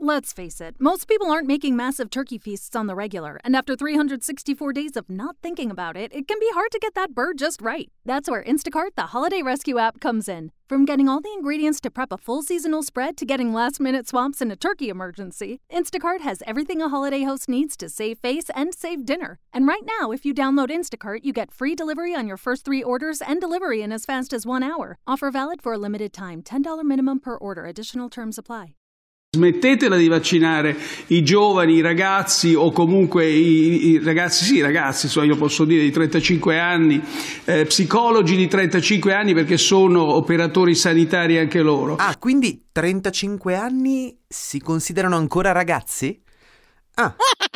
Let's face it, most people aren't making massive turkey feasts on the regular, and after 364 days of not thinking about it, it can be hard to get that bird just right. That's where Instacart, the holiday rescue app, comes in. From getting all the ingredients to prep a full seasonal spread to getting last-minute swaps in a turkey emergency, Instacart has everything a holiday host needs to save face and save dinner. And right now, if you download Instacart, you get free delivery on your first 3 orders and delivery in as fast as 1 hour. Offer valid for a limited time. $10 minimum per order. Additional terms apply. Smettetela di vaccinare i giovani, i ragazzi o comunque i ragazzi, io posso dire di 35 anni, psicologi di 35 anni perché sono operatori sanitari anche loro. Ah, quindi 35 anni si considerano ancora ragazzi? Ah.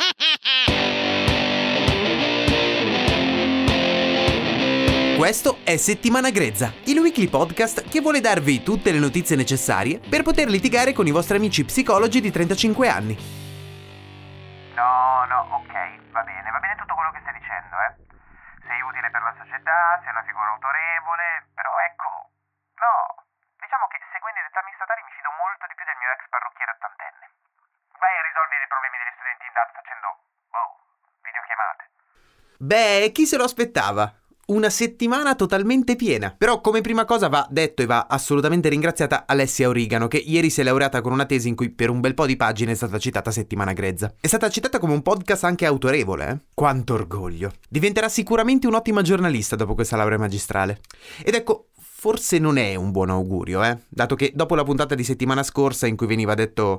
Questo è Settimana Grezza, il weekly podcast che vuole darvi tutte le notizie necessarie per poter litigare con i vostri amici psicologi di 35 anni. No, ok, va bene tutto quello che stai dicendo, Sei utile per la società, sei una figura autorevole, però ecco, no, diciamo che seguendo i dettami statali mi fido molto di più del mio ex parrucchiere ottantenne. Vai a risolvere i problemi degli studenti in DAD facendo, videochiamate. Beh, chi se lo aspettava? Una settimana totalmente piena. Però come prima cosa va detto e va assolutamente ringraziata Alessia Origano, che ieri si è laureata con una tesi in cui per un bel po' di pagine è stata citata Settimana Grezza. È stata citata come un podcast anche autorevole, eh? Quanto orgoglio. Diventerà sicuramente un'ottima giornalista dopo questa laurea magistrale. Ed ecco, forse non è un buon augurio, dato che dopo la puntata di settimana scorsa in cui veniva detto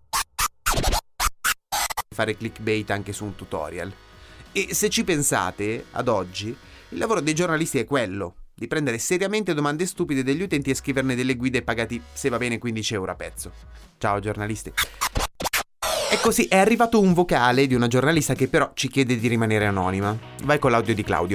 fare clickbait anche su un tutorial. E se ci pensate, ad oggi il lavoro dei giornalisti è quello, di prendere seriamente domande stupide degli utenti e scriverne delle guide pagati, se va bene, 15 euro a pezzo. Ciao giornalisti. E così è arrivato un vocale di una giornalista che però ci chiede di rimanere anonima. Vai con l'audio di Claudio.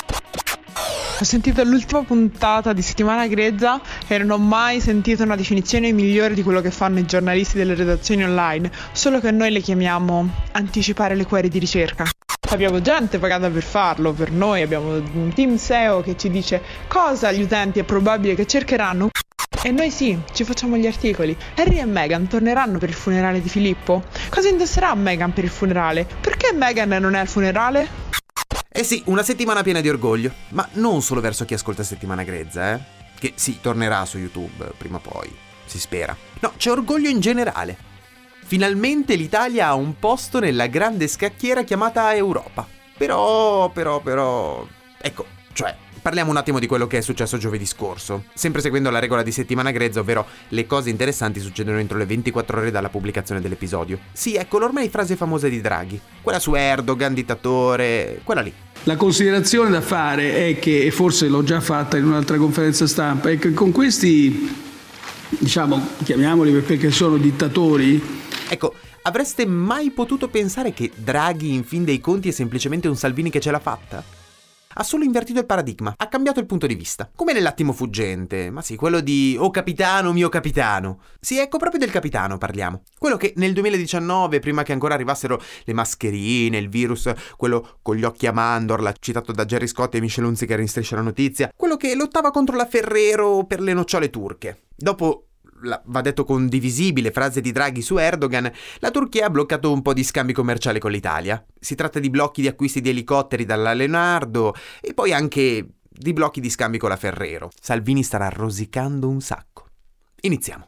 Ho sentito l'ultima puntata di Settimana Grezza e non ho mai sentito una definizione migliore di quello che fanno i giornalisti delle redazioni online, solo che noi le chiamiamo anticipare le query di ricerca. Abbiamo gente pagata per farlo, per noi abbiamo un team SEO che ci dice cosa gli utenti è probabile che cercheranno e noi sì, ci facciamo gli articoli. Harry e Meghan torneranno per il funerale di Filippo? Cosa indosserà Meghan per il funerale? Perché Meghan non è al funerale? Eh sì, una settimana piena di orgoglio, ma non solo verso chi ascolta Settimana Grezza, che sì, tornerà su YouTube prima o poi, si spera. No, c'è orgoglio in generale. Finalmente l'Italia ha un posto nella grande scacchiera chiamata Europa. Però, ecco, cioè, parliamo un attimo di quello che è successo giovedì scorso. Sempre seguendo la regola di Settimana Grezza, ovvero le cose interessanti succedono entro le 24 ore dalla pubblicazione dell'episodio. Sì, ecco l'ormai frase famosa di Draghi. Quella su Erdogan, dittatore, quella lì. La considerazione da fare è che, e forse l'ho già fatta in un'altra conferenza stampa, è che con questi, diciamo, chiamiamoli perché sono dittatori. Ecco, avreste mai potuto pensare che Draghi in fin dei conti è semplicemente un Salvini che ce l'ha fatta? Ha solo invertito il paradigma, ha cambiato il punto di vista. Come nell'attimo fuggente, ma sì, quello di "Oh capitano, mio capitano". Sì, ecco, proprio del capitano parliamo. Quello che nel 2019, prima che ancora arrivassero le mascherine, il virus, quello con gli occhi a mandorla, citato da Gerry Scott e Michel Hunziker in Striscia la Notizia, quello che lottava contro la Ferrero per le nocciole turche. Dopo va detto condivisibile frase di Draghi su Erdogan, la Turchia ha bloccato un po' di scambi commerciali con l'Italia. Si tratta di blocchi di acquisti di elicotteri dalla Leonardo e poi anche di blocchi di scambi con la Ferrero. Salvini starà rosicando un sacco. Iniziamo.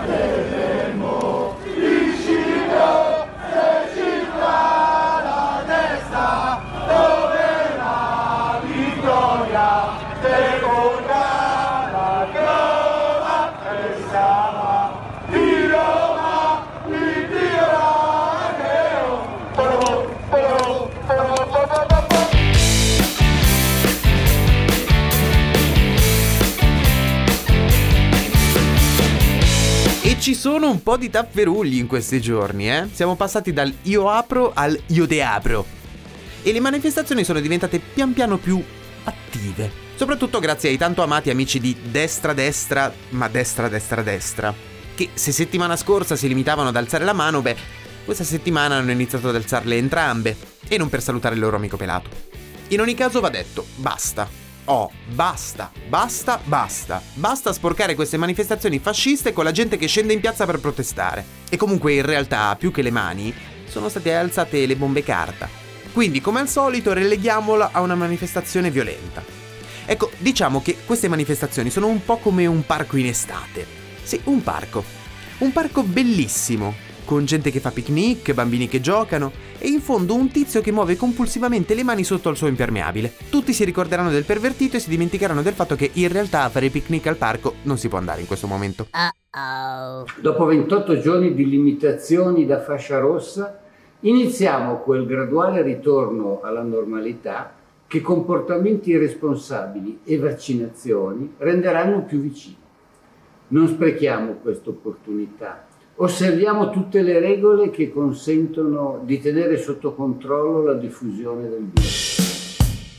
Ci sono un po' di tafferugli in questi giorni, Siamo passati dal io apro al io te apro. E le manifestazioni sono diventate pian piano più attive. Soprattutto grazie ai tanto amati amici di destra, ma destra, che se settimana scorsa si limitavano ad alzare la mano, questa settimana hanno iniziato ad alzarle entrambe. E non per salutare il loro amico pelato. In ogni caso va detto, basta. Basta sporcare queste manifestazioni fasciste con la gente che scende in piazza per protestare. E comunque in realtà, più che le mani, sono state alzate le bombe carta. Quindi, come al solito, releghiamola a una manifestazione violenta. Ecco, diciamo che queste manifestazioni sono un po' come un parco in estate. Sì, un parco bellissimo, con gente che fa picnic, bambini che giocano e in fondo un tizio che muove compulsivamente le mani sotto al suo impermeabile. Tutti si ricorderanno del pervertito e si dimenticheranno del fatto che in realtà a fare picnic al parco non si può andare in questo momento. Dopo 28 giorni di limitazioni da fascia rossa, iniziamo quel graduale ritorno alla normalità che comportamenti irresponsabili e vaccinazioni renderanno più vicini. Non sprechiamo questa opportunità. Osserviamo tutte le regole che consentono di tenere sotto controllo la diffusione del virus.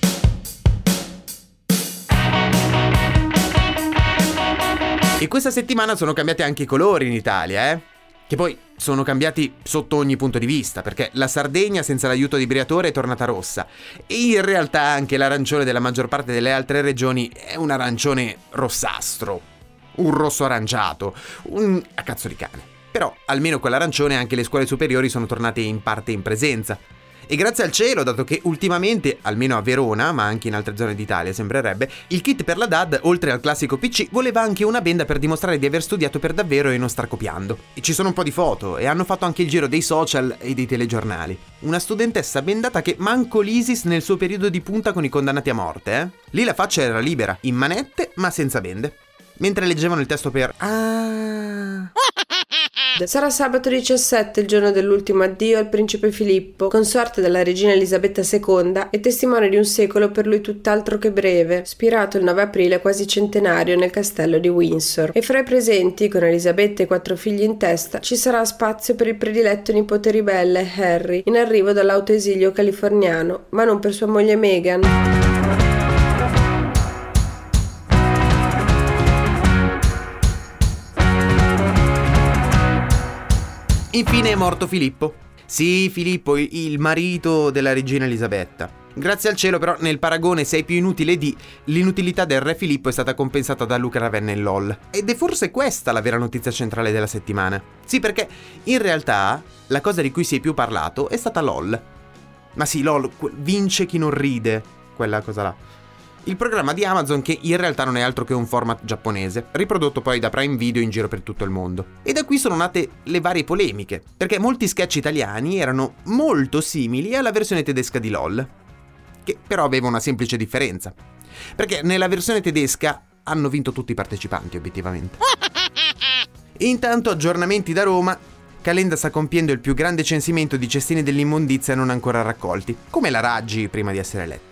E questa settimana sono cambiati anche i colori in Italia, Che poi sono cambiati sotto ogni punto di vista, perché la Sardegna senza l'aiuto di Briatore è tornata rossa e in realtà anche l'arancione della maggior parte delle altre regioni è un arancione rossastro, un rosso aranciato, a cazzo di cane. Però almeno con l'arancione anche le scuole superiori sono tornate in parte in presenza. E grazie al cielo, dato che ultimamente, almeno a Verona, ma anche in altre zone d'Italia sembrerebbe, il kit per la DAD, oltre al classico PC, voleva anche una benda per dimostrare di aver studiato per davvero e non star copiando. E ci sono un po' di foto, e hanno fatto anche il giro dei social e dei telegiornali. Una studentessa bendata che manco l'ISIS nel suo periodo di punta con i condannati a morte, Lì la faccia era libera, in manette, ma senza bende. Mentre leggevano il testo per... Sarà sabato 17, il giorno dell'ultimo addio al principe Filippo, consorte della regina Elisabetta II e testimone di un secolo per lui tutt'altro che breve, spirato il 9 aprile quasi centenario nel castello di Windsor. E fra i presenti, con Elisabetta e 4 figli in testa, ci sarà spazio per il prediletto nipote ribelle, Harry, in arrivo dall'autoesilio californiano, ma non per sua moglie Meghan. Infine è morto Filippo. Sì, Filippo, il marito della regina Elisabetta. Grazie al cielo però nel paragone sei più inutile di l'inutilità del re Filippo è stata compensata da Luca Ravenna in LOL. Ed è forse questa la vera notizia centrale della settimana. Sì, perché in realtà la cosa di cui si è più parlato è stata LOL. Ma sì, LOL, vince chi non ride, quella cosa là. Il programma di Amazon che in realtà non è altro che un format giapponese, riprodotto poi da Prime Video in giro per tutto il mondo. E da qui sono nate le varie polemiche, perché molti sketch italiani erano molto simili alla versione tedesca di LOL, che però aveva una semplice differenza, perché nella versione tedesca hanno vinto tutti i partecipanti obiettivamente. Intanto aggiornamenti da Roma, Calenda sta compiendo il più grande censimento di cestini dell'immondizia non ancora raccolti, come la Raggi prima di essere eletta.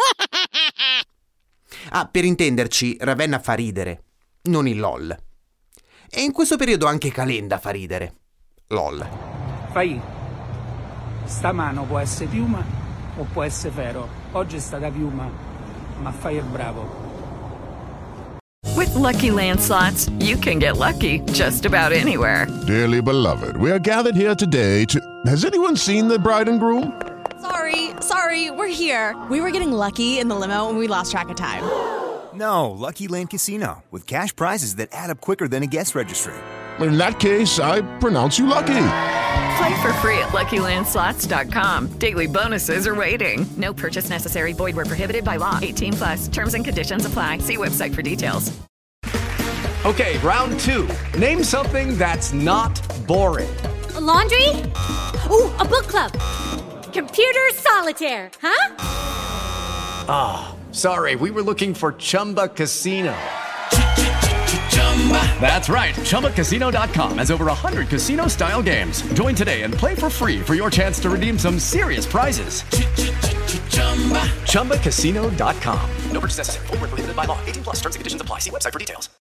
Per intenderci, Ravenna fa ridere, non il LOL. E in questo periodo anche Calenda fa ridere. LOL. Fai, sta mano può essere piuma o può essere ferro. Oggi è stata piuma, ma fai il bravo. With Lucky Land Slots, you can get lucky just about anywhere. Dearly beloved, we are gathered here today to... Has anyone seen the bride and groom? Sorry, we're here. We were getting lucky in the limo and we lost track of time. No, Lucky Land Casino, with cash prizes that add up quicker than a guest registry. In that case, I pronounce you lucky. Play for free at LuckyLandSlots.com. Daily bonuses are waiting. No purchase necessary. Void where prohibited by law. 18+. Terms and conditions apply. See website for details. Okay, round 2. Name something that's not boring. A laundry? Ooh, a book club. Computer solitaire, huh? Sorry, we were looking for Chumba Casino. That's right, ChumbaCasino.com has over 100 casino-style games. Join today and play for free for your chance to redeem some serious prizes. ChumbaCasino.com. No purchase necessary. Void where prohibited by law. 18+. Terms and conditions apply. See website for details.